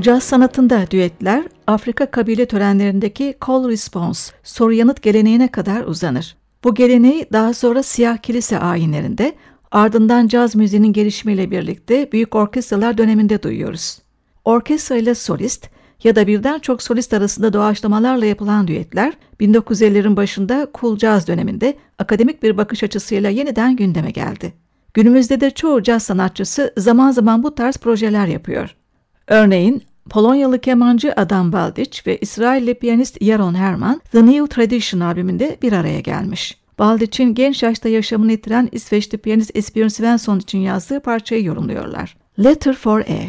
Caz sanatında düetler, Afrika kabile törenlerindeki call response, soru yanıt geleneğine kadar uzanır. Bu geleneği daha sonra siyah kilise ayinlerinde, ardından caz müziğinin gelişimiyle birlikte büyük orkestralar döneminde duyuyoruz. Orkestra ile solist ya da birden çok solist arasında doğaçlamalarla yapılan düetler, 1950'lerin başında cool caz döneminde akademik bir bakış açısıyla yeniden gündeme geldi. Günümüzde de çoğu caz sanatçısı zaman zaman bu tarz projeler yapıyor. Örneğin Polonyalı kemancı Adam Baldrich ve İsrailli piyanist Yaron Herman, The New Tradition albümünde bir araya gelmiş. Baldrich'in genç yaşta yaşamını yitiren İsveçli piyanist Esbjörn Svensson için yazdığı parçayı yorumluyorlar. Letter for A.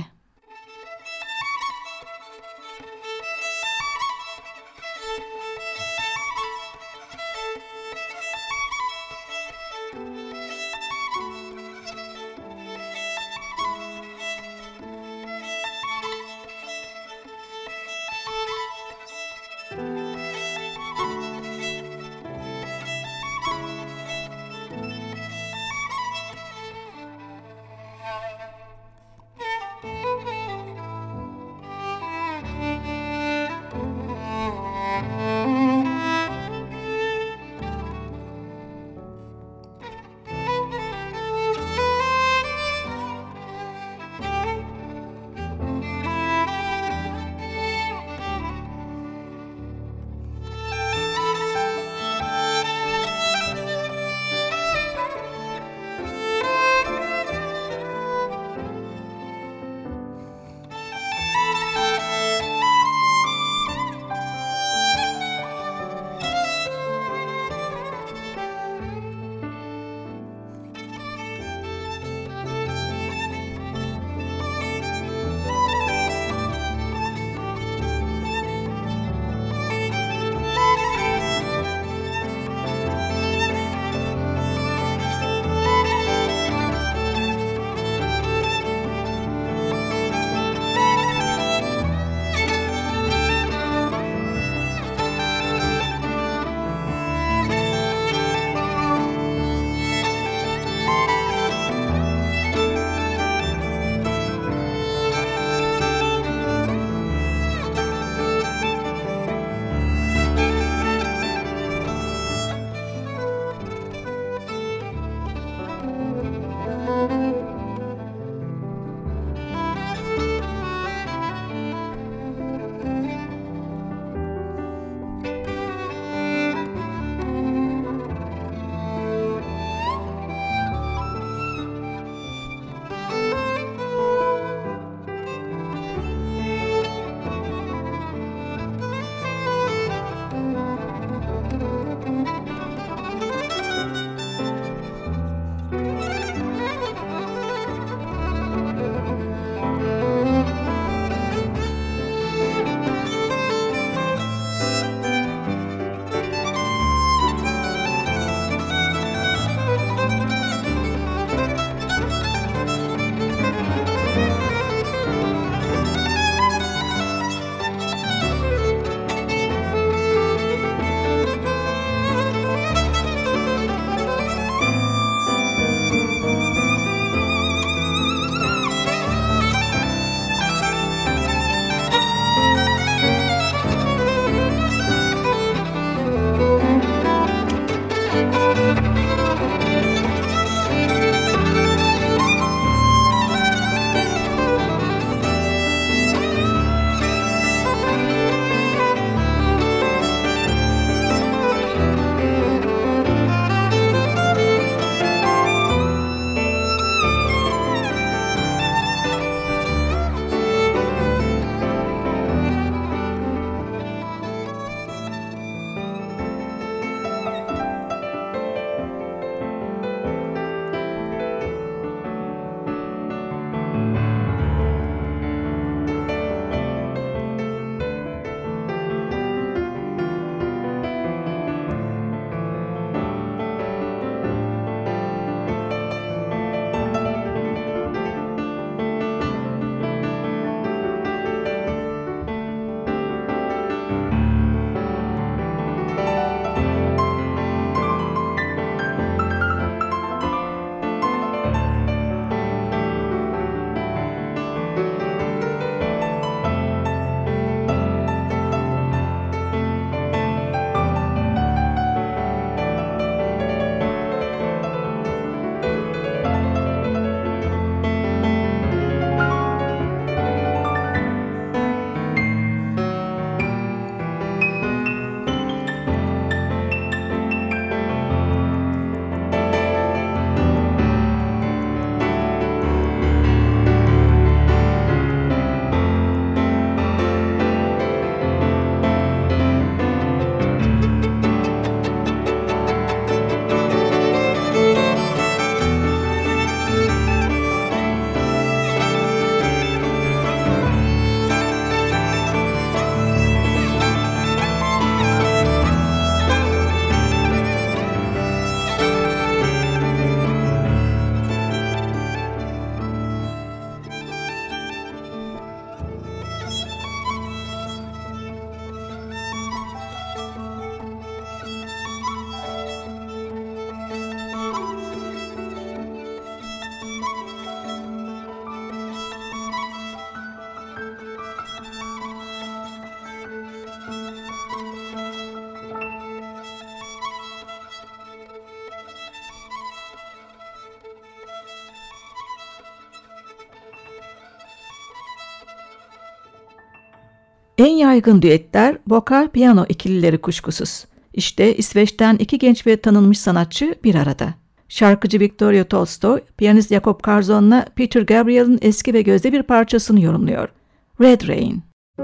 En yaygın düetler vokal-piyano ikilileri kuşkusuz. İşte İsveç'ten iki genç ve tanınmış sanatçı bir arada. Şarkıcı Victoria Tolstoy, piyanist Jakob Karzon'la Peter Gabriel'in eski ve gözde bir parçasını yorumluyor. Red Rain.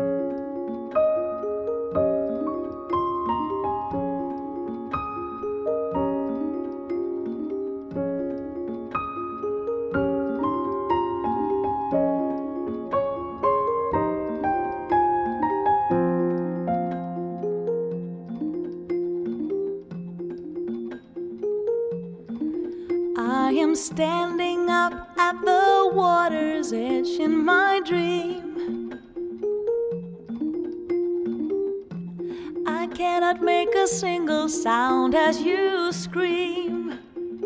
I am standing up at the water's edge in my dream. I cannot make a single sound as you scream.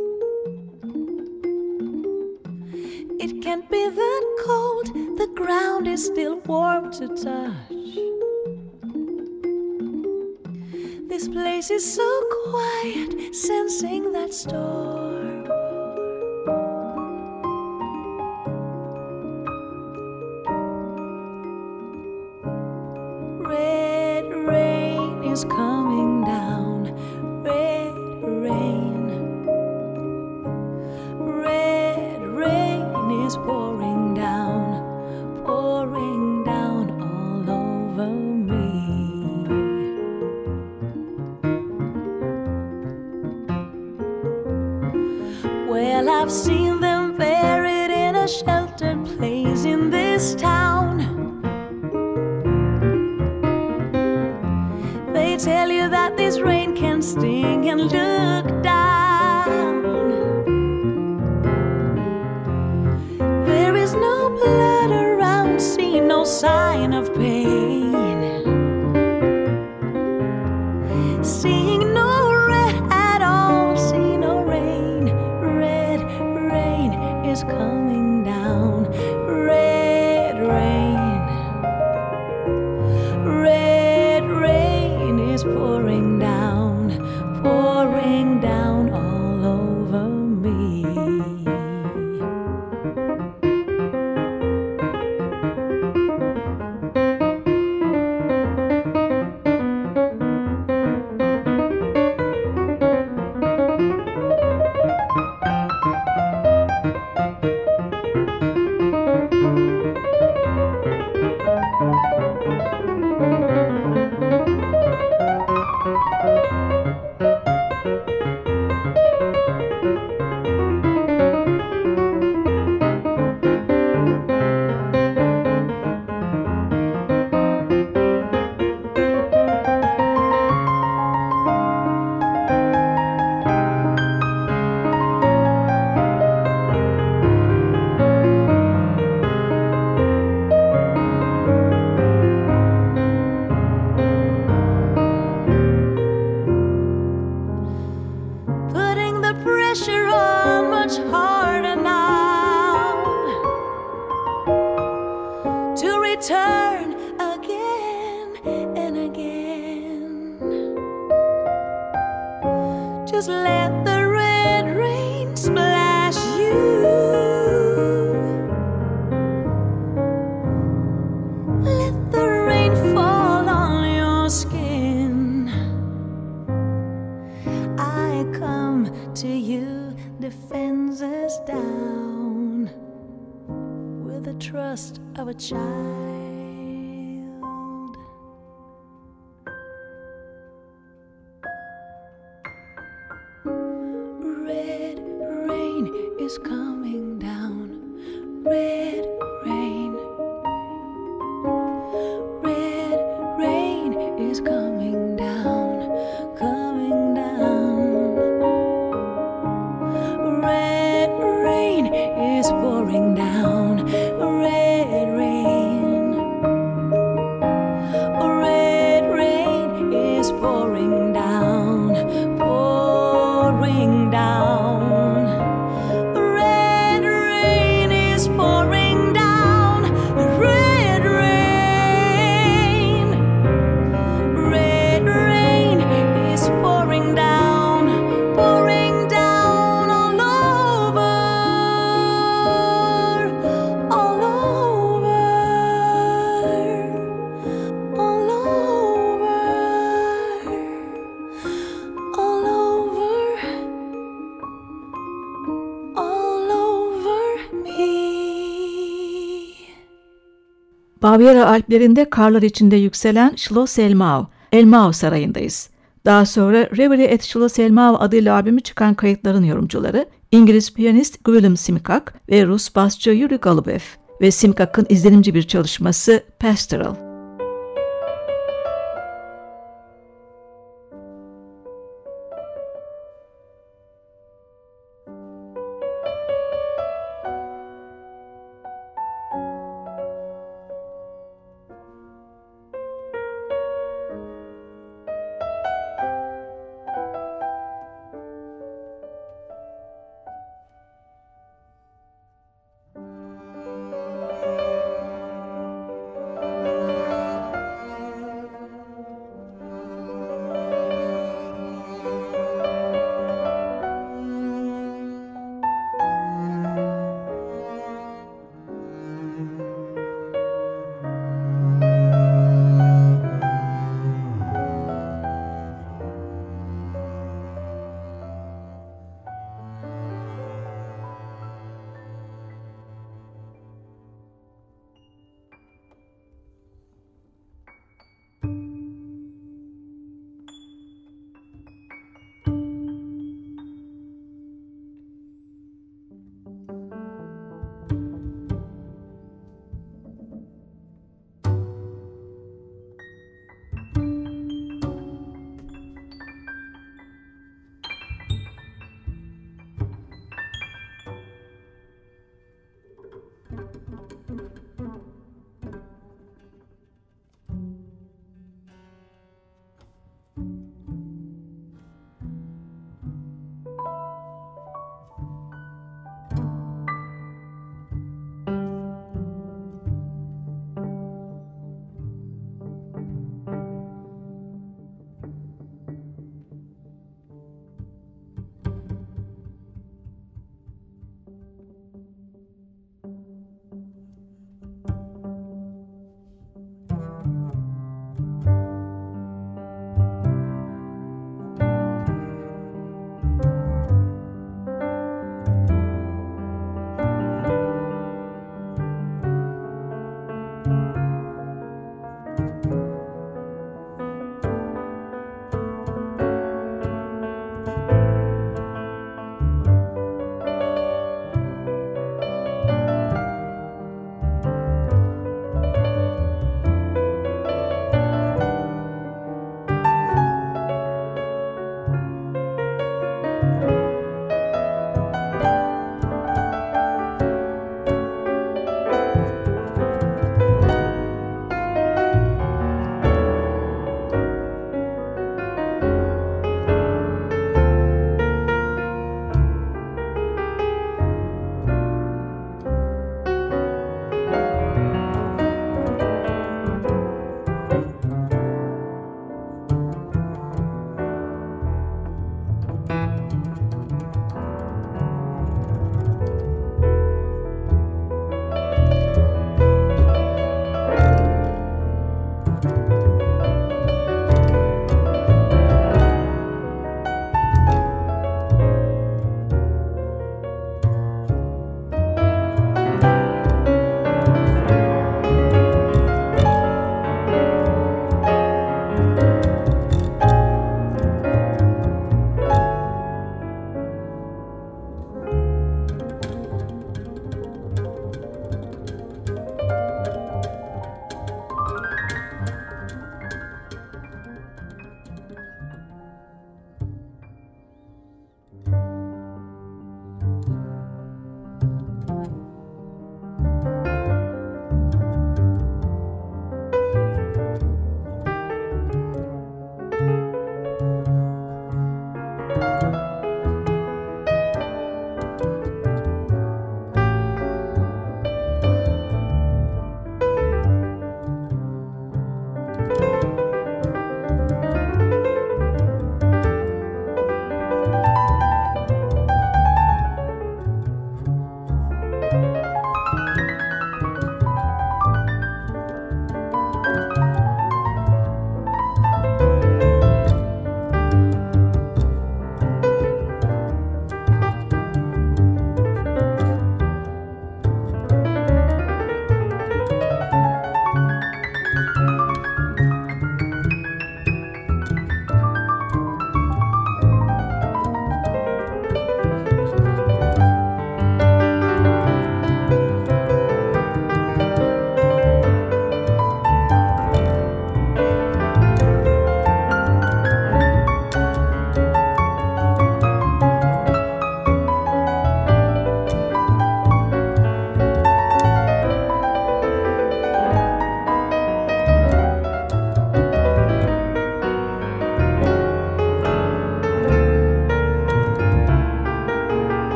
It can't be that cold, the ground is still warm to touch. This place is so quiet, sensing that storm. Is coming down, red rain. Red rain is pouring down all over me. Well, I've seen them buried in a sheltered place in this town. They tell you that this rain can sting and look down. There is no blood around, see no sign of pain. Seeing no red at all, see no rain. Red rain is coming down. Red rain. Red rain is pouring down all over me. Return again and again. Just let the red rain splash you. Let the rain fall on your skin. I come to you, defenses down, with the trust of a child. Red rain is coming down. Red rain. Red rain is coming down, coming down. Red rain is pouring down. Red rain. Bavyera Alplerinde karlar içinde yükselen Schloss Elmau, Elmau Sarayı'ndayız. Daha sonra Reverie at Schloss Elmau adıyla albümü çıkan kayıtların yorumcuları İngiliz piyanist Willem Simkak ve Rus basçı Yuri Golubev ve Simkak'ın izlenimci bir çalışması Pastoral.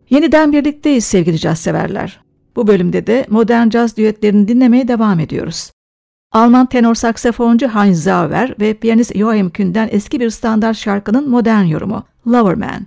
Yeniden birlikteyiz sevgili caz severler. Bu bölümde de modern caz düetlerini dinlemeye devam ediyoruz. Alman tenor saksafoncu Heinz Sauer ve piyanist Joachim Kühn'den eski bir standart şarkının modern yorumu Loverman.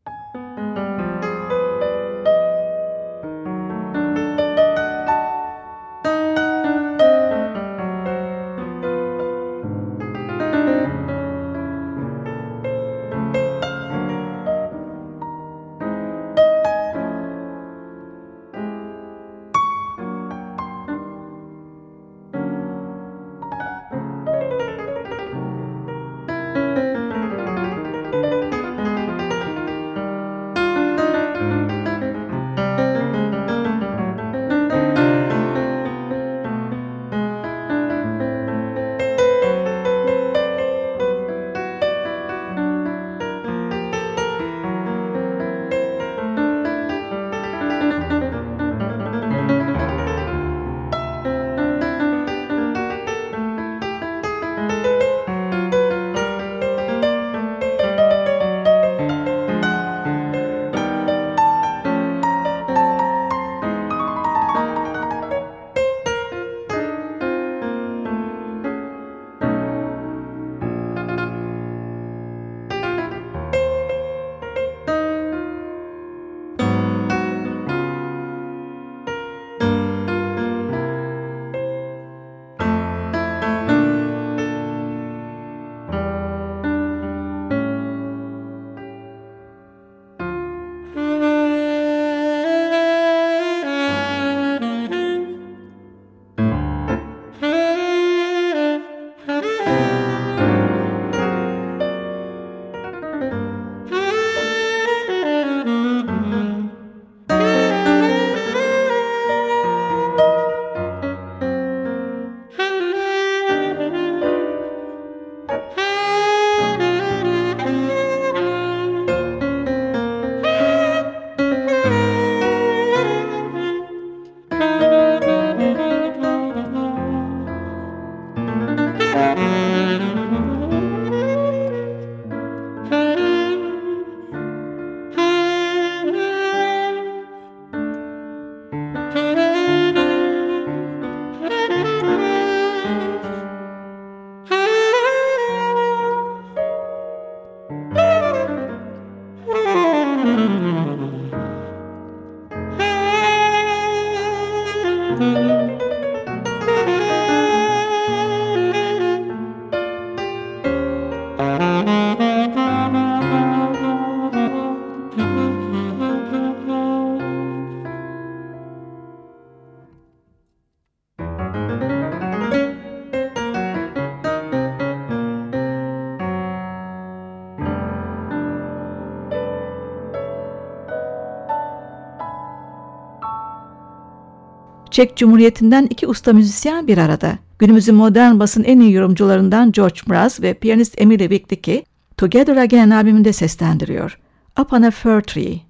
Çek Cumhuriyeti'nden iki usta müzisyen bir arada. Günümüzün modern basın en iyi yorumcularından George Mraz ve piyanist Emile Wigdicki, Together Again albümünde seslendiriyor. Up on a Fir Tree.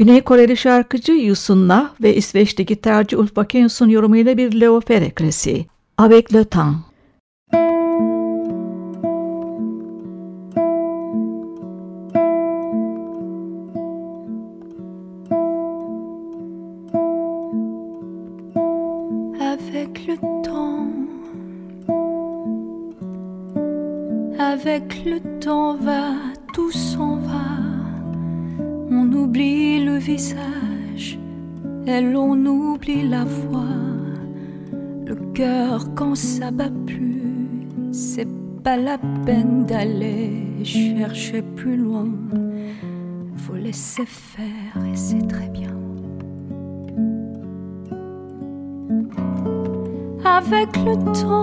Güney Koreli şarkıcı Yusun Na ve İsveçli gitarcı Ulf Bakensson yorumuyla bir Leo Ferre klasiği. Avec le temps. Avec le temps va, tout s'en va. On oublie le visage et l'on oublie la voix. Le cœur quand ça bat plus, c'est pas la peine d'aller chercher plus loin. Faut laisser faire et c'est très bien. Avec le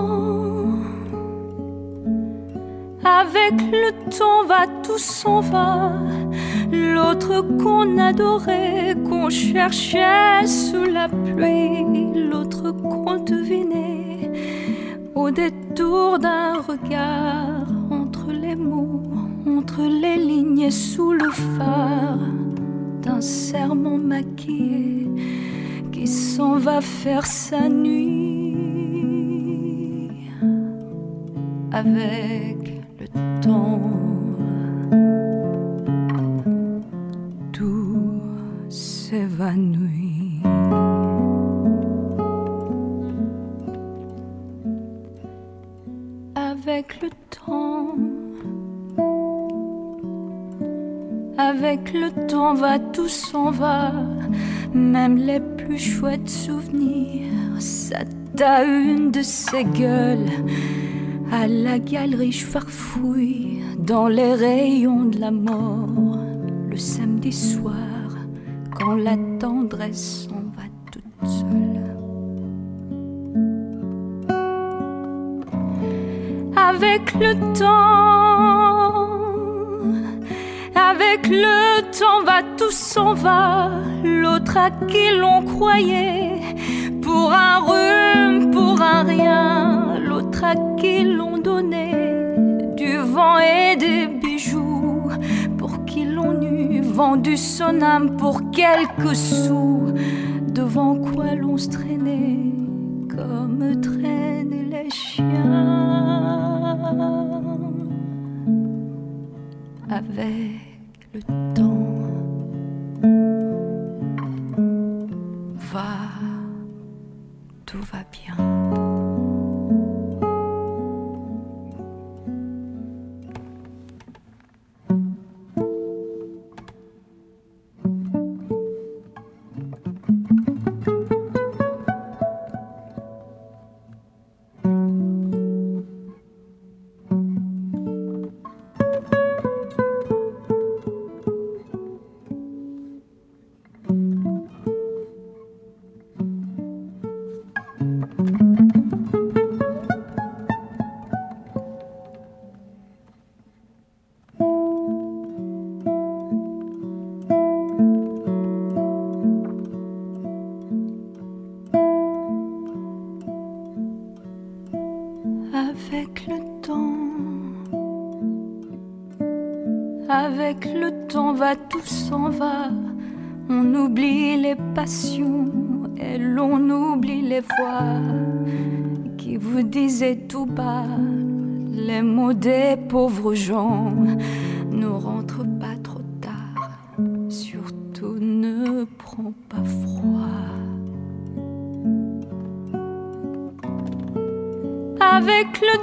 temps va, tout s'en va. L'autre qu'on adorait, qu'on cherchait sous la pluie, l'autre qu'on devinait au détour d'un regard, entre les mots, entre les lignes et sous le phare d'un serment maquillé qui s'en va faire sa nuit. Avec le temps, tout s'évanouit. Avec le temps va, tout s'en va. Même les plus chouettes souvenirs, ça t'a une de ces gueules. À la galerie, je farfouille dans les rayons de la mort. Le samedi soir, quand la tendresse s'en va toute seule. Avec le temps va, tout s'en va. L'autre à qui l'on croyait pour un rhume, pour un rien. L'autre à qui l'on donnait du vent et des bijoux, pour qui l'on eût vendu son âme pour quelques sous. Devant quoi l'on se traînait comme traînent les chiens. Avec le temps va, tout va bien. Avec le temps va, tout s'en va. On oublie les passions et l'on oublie les voix qui vous disaient tout bas les mots des pauvres gens. Ne rentre pas trop tard, surtout ne prends pas froid. Avec le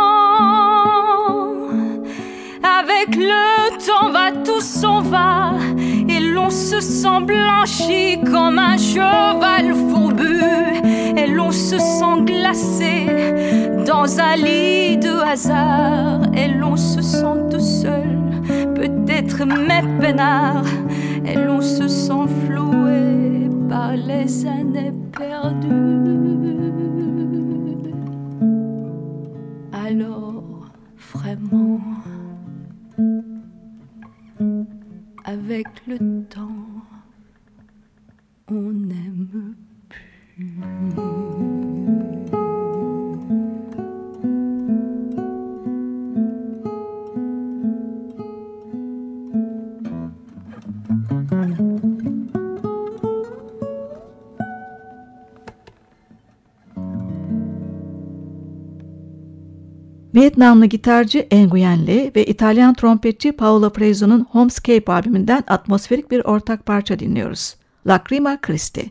temps va, tout s'en va. Et l'on se sent blanchi comme un cheval fourbu. Et l'on se sent glacé dans un lit de hasard. Et l'on se sent tout seul, peut-être mais peinard. Et l'on se sent floué par les années perdues. Alors vraiment, avec le temps, on n'aime plus. Vietnamlı gitarcı Nguyen Le ve İtalyan trompetçi Paolo Freso'nun Homescape albümünden atmosferik bir ortak parça dinliyoruz. Lacrima Christi.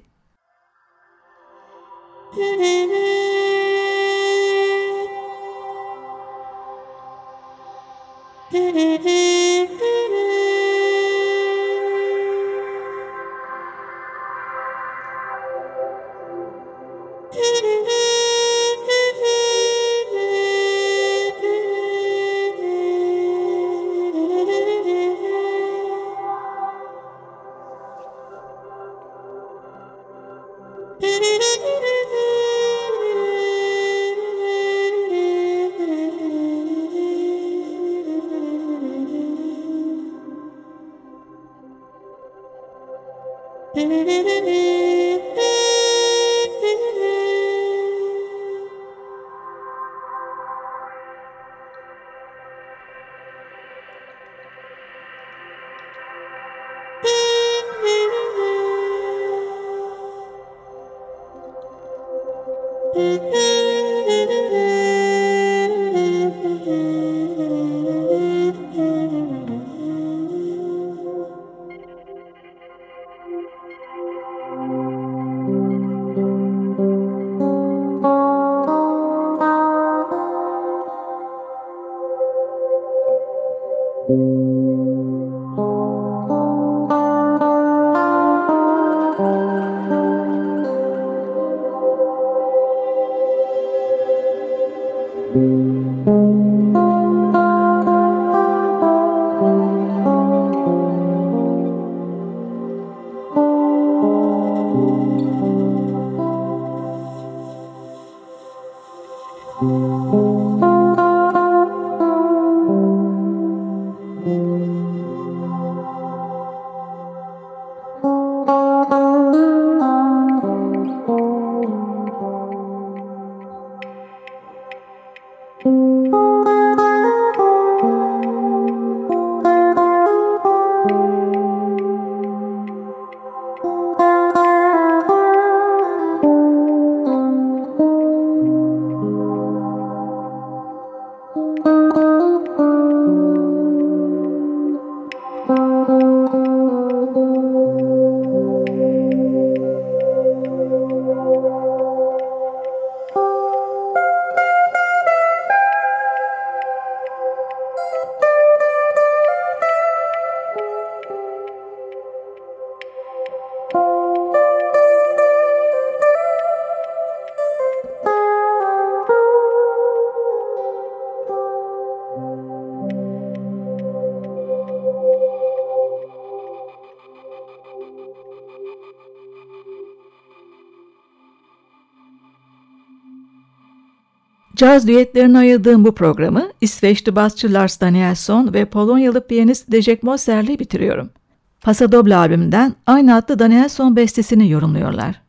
Caz düetlerine ayırdığım bu programı İsveçli basçı Lars Danielsson ve Polonyalı piyanist Leszek Moser'le bitiriyorum. Pasodoble albümünden aynı adlı Danielsson bestesini yorumluyorlar.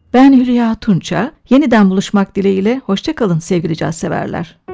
Ben Hülya Tunça. Yeniden buluşmak dileğiyle hoşça kalın sevgili caz severler.